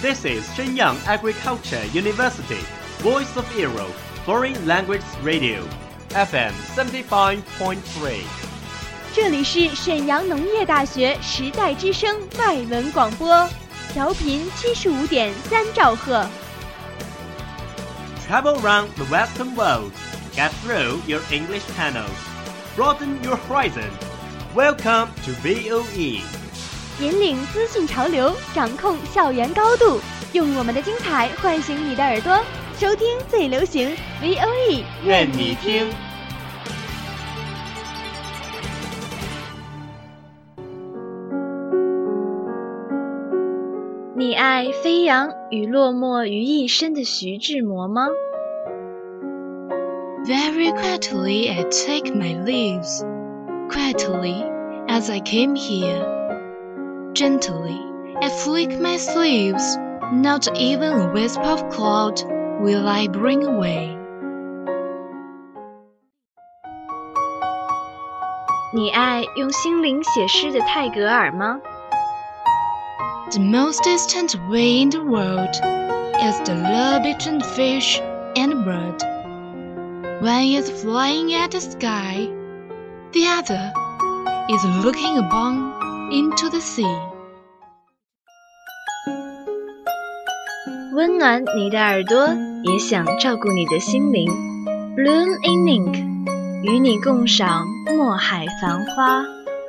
This is Shenyang Agriculture University, Voice of Europe, Foreign Language Radio, FM 75.3。 这里是沈阳农业大学时代之声外文广播，调频75.3兆赫。 Travel around the Western world, get through your English channels, broaden your horizon. Welcome to VOE. 引领资讯潮流，掌控校园高度，用我们的精彩唤醒你的耳朵，收听最流行 VOE， 愿你听。你爱飞扬与落寞于一身的徐志摩吗？ Very quietly I take my leaves, quietly as I came here. Gently I flick my sleeves, not even a wisp of cloud will I bring away. 你爱用心灵写诗的泰戈尔吗？ The most distant way in the world is the love between fish and bird. One is flying at the sky, the other is looking upon into the sea. 温暖你的耳朵，也想照顾你的心灵。Bloom in Ink， 与你共赏墨海繁花。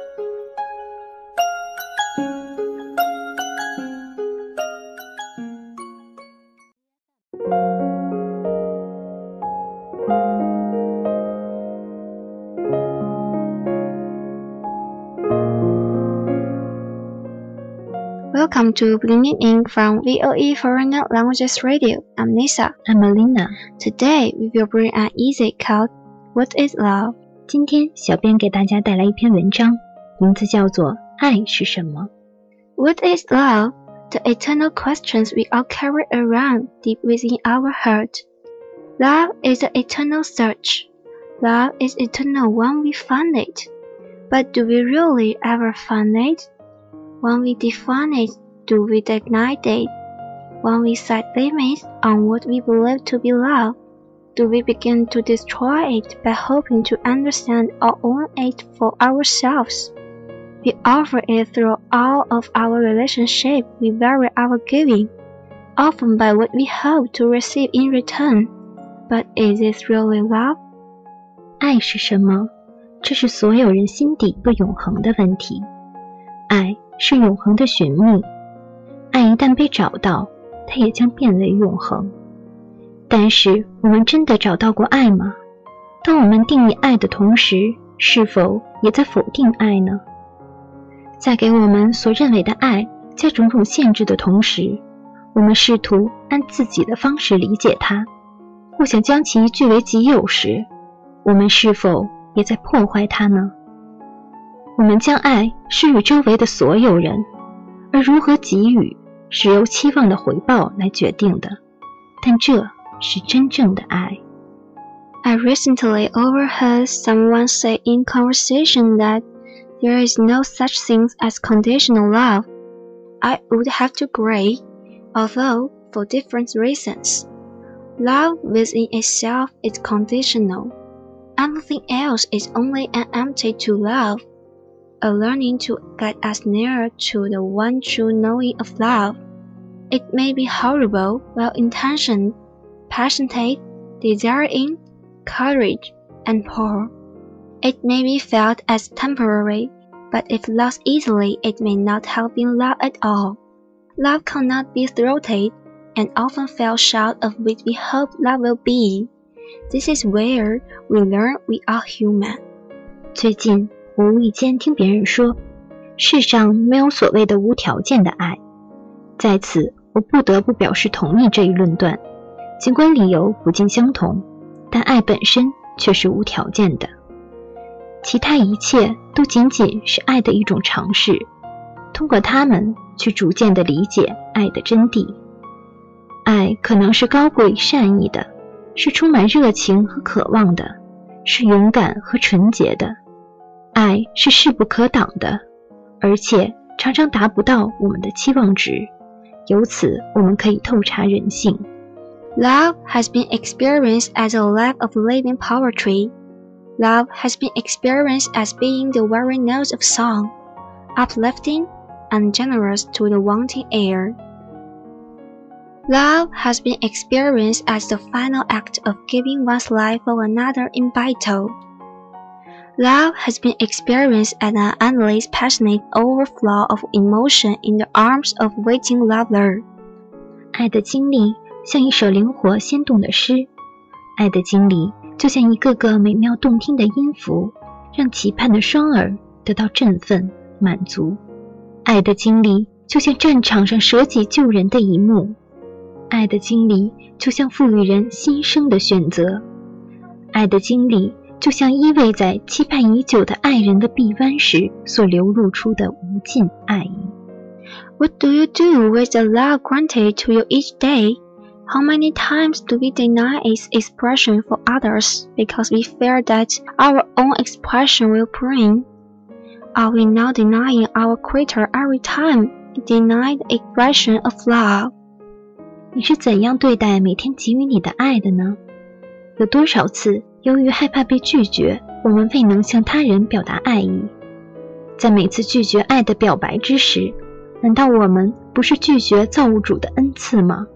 Welcome to Blooming Ink from VOE Foreign Languages Radio. I'm Nisa. I'm Alina. Today we will bring an essay called What is Love? 今天小编给大家带来一篇文章，名字叫做《爱是什么》。 What is love? The eternal questions we all carry around deep within our heart. Love is an eternal search. Love is eternal when we find it. But do we really ever find it? When we define it, do we deny it? When we set limits on what we believe to be love, do we begin to destroy it by hoping to understand or own it for ourselves? We offer it through all of our relationships we vary our giving, often by what we hope to receive in return. But is it really love? 爱是什么？这是所有人心底不永恒的问题。爱是永恒的寻觅，爱一旦被找到，它也将变为永恒。但是我们真的找到过爱吗？当我们定义爱的同时，是否也在否定爱呢？在给我们所认为的爱加种种限制的同时，我们试图按自己的方式理解它，或想将其据为己有时，我们是否也在破坏它呢？我们将爱施予周围的所有人，而如何给予是由期望的回报来决定的，但这是真正的爱。 I recently overheard someone say in conversation that there is no such thing as conditional love. I would have to agree, although for different reasons. Love within itself is conditional. Anything else is only an empty to love.A learning to get us nearer to the one true knowing of love. It may be horrible, well-intentioned, passionate, desiring, courage, and poor. It may be felt as temporary, but if lost easily, it may not have been love at all. Love cannot be thwarted, and often falls short of what we hope love will be. This is where we learn we are human. 最近我无意间听别人说，世上没有所谓的无条件的爱。在此，我不得不表示同意这一论断，尽管理由不尽相同，但爱本身却是无条件的。其他一切都仅仅是爱的一种尝试，通过它们去逐渐地理解爱的真谛。爱可能是高贵善意的，是充满热情和渴望的，是勇敢和纯洁的。爱是势不可挡的，而且常常达不到我们的期望值， 由此我们可以透察人性。 Love has been experienced as a life of living poetry. Love has been experienced as being the very notes of song, uplifting and generous to the wanting ear. Love has been experienced as the final act of giving one's life for another in battle. Love has been experienced as an endless passionate overflow of emotion in the arms of waiting lover. 爱的经历像一首灵活鲜动的诗，爱的经历就像一个个美妙动听的音符，让期盼的双耳得到振奋满足。爱的经历就像战场上舍己救人的一幕，爱的经历就像赋予人新生的选择，爱的经历就像依偎在期盼已久的爱人的臂弯时所流露出的无尽爱意。 What do you do with the love granted to you each day? How many times do we deny its expression for others because we fear that our own expression will bring? Are we now denying our Creator every time we deny the expression of love? 你是怎样对待每天给予你的爱的呢？有多少次由于害怕被拒绝，我们未能向他人表达爱意？在每次拒绝爱的表白之时，难道我们不是拒绝造物主的恩赐吗？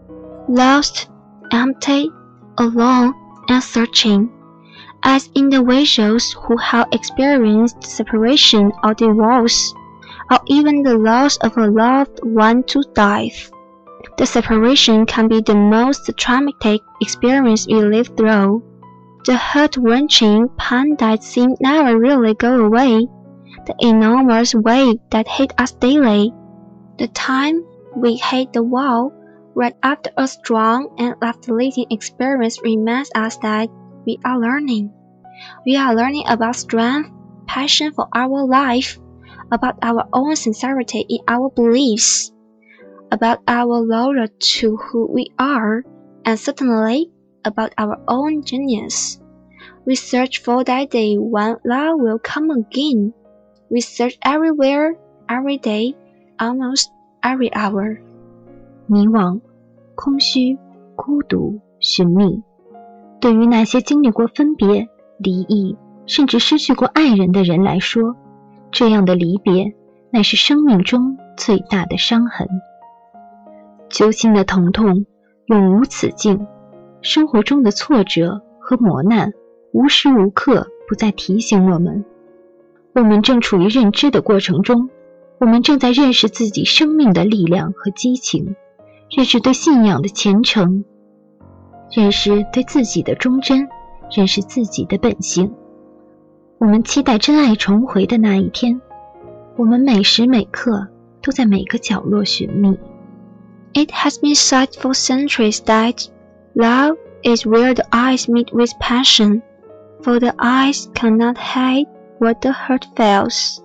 Lost, empty, alone, and searching, as individuals who have experienced separation or divorce, or even the loss of a loved one to death. The separation can be the most traumatic experience we live through. The heart-wrenching pain that seems never really go away. The enormous weight that hit us daily. The time we hit the wall right after a strong and life-leading experience reminds us that we are learning. We are learning about strength, passion for our life, about our own sincerity in our beliefs, about our loyalty to who we are, and certainly about our own genius. We search for that day when love will come again. We search everywhere, every day, almost every hour. 迷惘、空虚、孤独、寻觅。对于那些经历过分别、离异，甚至失去过爱人的人来说，这样的离别乃是生命中最大的伤痕。揪心的疼痛永无止境，生活中的挫折和磨难无时无刻不在提醒我们，我们正处于认知的过程中，我们正在认识自己生命的力量和激情，认识对信仰的虔诚，认识对自己的忠贞，认识自己的本性。我们期待真爱重回的那一天，我们每时每刻都在每个角落寻觅。 It has been said for centuries that love is where the eyes meet with passion, for the eyes cannot hide what the heart feels.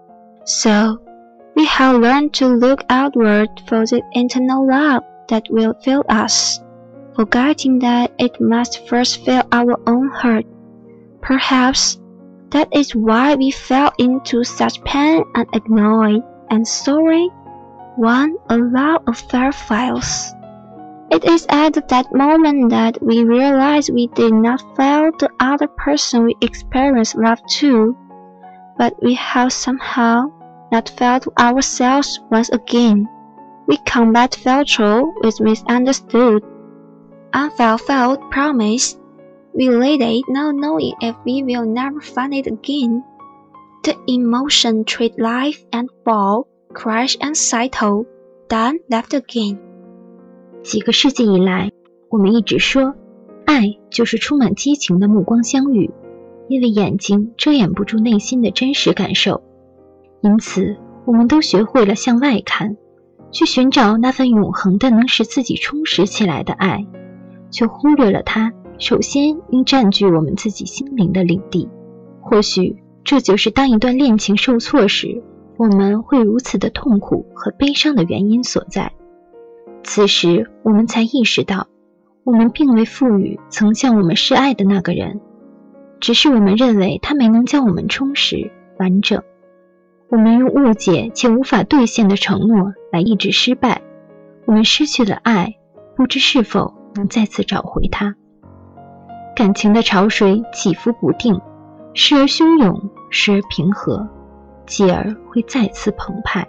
So, we have learned to look outward for the internal love that will fill us, forgetting that it must first fill our own heart. Perhaps that is why we fell into such pain and annoyed and sorry when a love affair fails. It is at that moment that we realize we did not fail the other person we experienced love to, but we have somehow not failed ourselves once again. We combat failure with misunderstood, unfulfilled promise. We let it not knowing if we will never find it again. The emotion treat life and fall, crash and settle, then left again. 几个世纪以来，我们一直说，爱就是充满激情的目光相遇，因为眼睛遮掩不住内心的真实感受。因此，我们都学会了向外看，去寻找那份永恒的能使自己充实起来的爱，却忽略了它首先应占据我们自己心灵的领地。或许这就是当一段恋情受挫时，我们会如此的痛苦和悲伤的原因所在。此时我们才意识到，我们并未赋予曾向我们示爱的那个人，只是我们认为他没能将我们充实完整。我们用误解且无法兑现的承诺来抑制失败， 我们失去了爱，不知是否能再次找回它。感情的潮水起伏不定，时而汹涌，时而平和，继而会再次澎湃。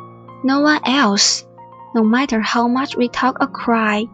No one else, no matter how much we talk or cry,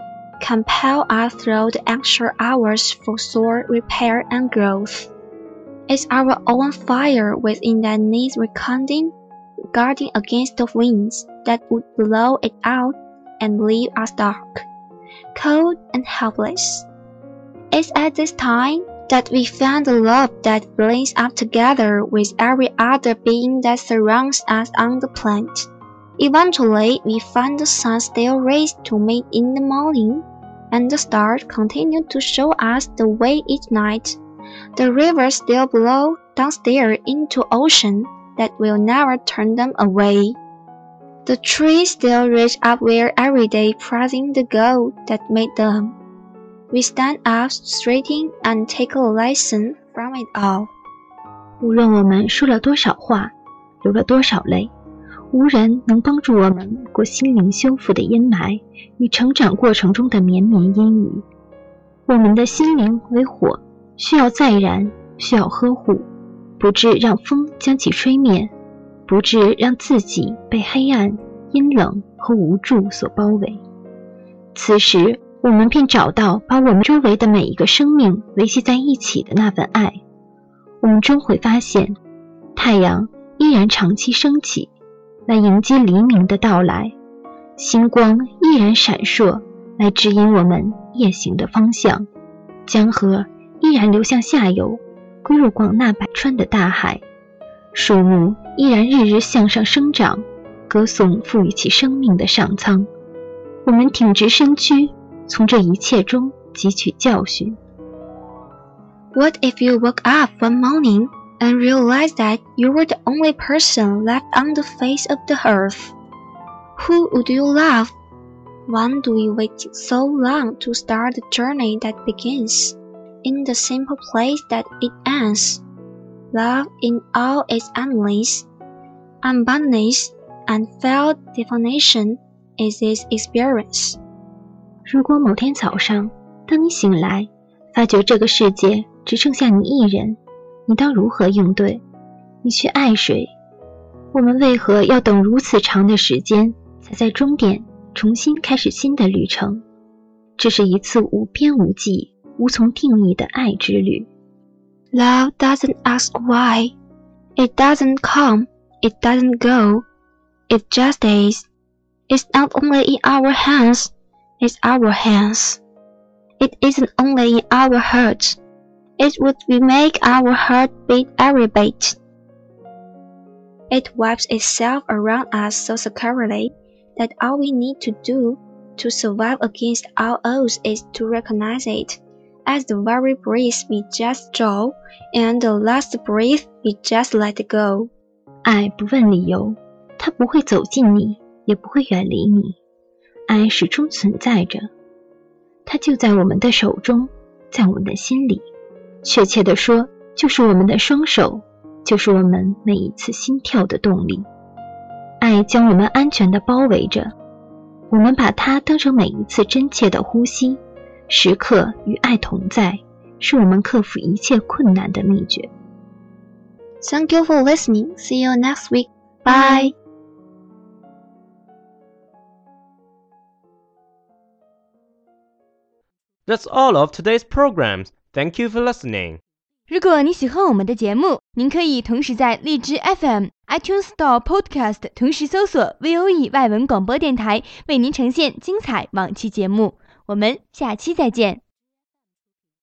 can pale us through the anxious hours for soul repair and growth. It's our own fire within that needs rekindling, guarding against the winds that would blow it out and leave us dark, cold and helpless. It's at this time that we find the love that brings us together with every other being that surrounds us on the planet. Eventually, we find the sun still rays to meet in the morning, and the stars continue to show us the way each night. The rivers still blow downstairs into ocean that will never turn them away. The trees still reach up where every day praising the God that made them. We stand up straighten and take a lesson from it all. 无论我们说了多少话，流了多少泪，无人能帮助我们过心灵修复的阴霾与成长过程中的绵绵阴雨。我们的心灵为火，需要再燃，需要呵护，不致让风将其吹灭，不致让自己被黑暗、阴冷和无助所包围。此时我们便找到把我们周围的每一个生命维系在一起的那份爱。我们终会发现，太阳依然长期升起，来迎接黎明的到来，星光依然闪烁，来指引我们夜行的方向，江河依然流向下游，归入广纳百川的大海，树木依然日日向上生长，歌颂赋予其生命的上苍。我们挺直身躯，从这一切中汲取教训。 What if you woke up one morning and realized that you were the only person left on the face of the earth? Who would you love? Why do we wait so long to start the journey that begins in the simple place that it ends? Love in all its endless, unboundedness, and felt definition is its experience. 如果某天早上，当你醒来，发觉这个世界只剩下你一人，你当如何应对？你去爱谁？我们为何要等如此长的时间，才在终点重新开始新的旅程？这是一次无边无际、无从定义的爱之旅。 Love doesn't ask why. It doesn't come. It doesn't go. It just is. It's not only in our hands. It's our hands. It isn't only in our hearts. It would make our heart beat every beat. It wraps itself around us so securely that all we need to do to survive against all odds is to recognize it as the very breath we just draw and the last breath we just let go. 爱不问理由，它不会走近你，也不会远离你。爱始终存在着，它就在我们的手中，在我们的心里。确切地说，就是我们的双手，就是我们每一次心跳的动力。爱将我们安全地包围着，我们把它当成每一次真切的呼吸，时刻与爱同在，是我们克服一切困难的秘诀。 Thank you for listening. See you next week. Bye. That's all of today's programs. Thank you for listening. 如果你喜欢我们的节目，您可以同时在荔枝 FM、iTunes Store Podcast 同时搜索 VOE 外文广播电台，为您呈现精彩往期节目。我们下期再见。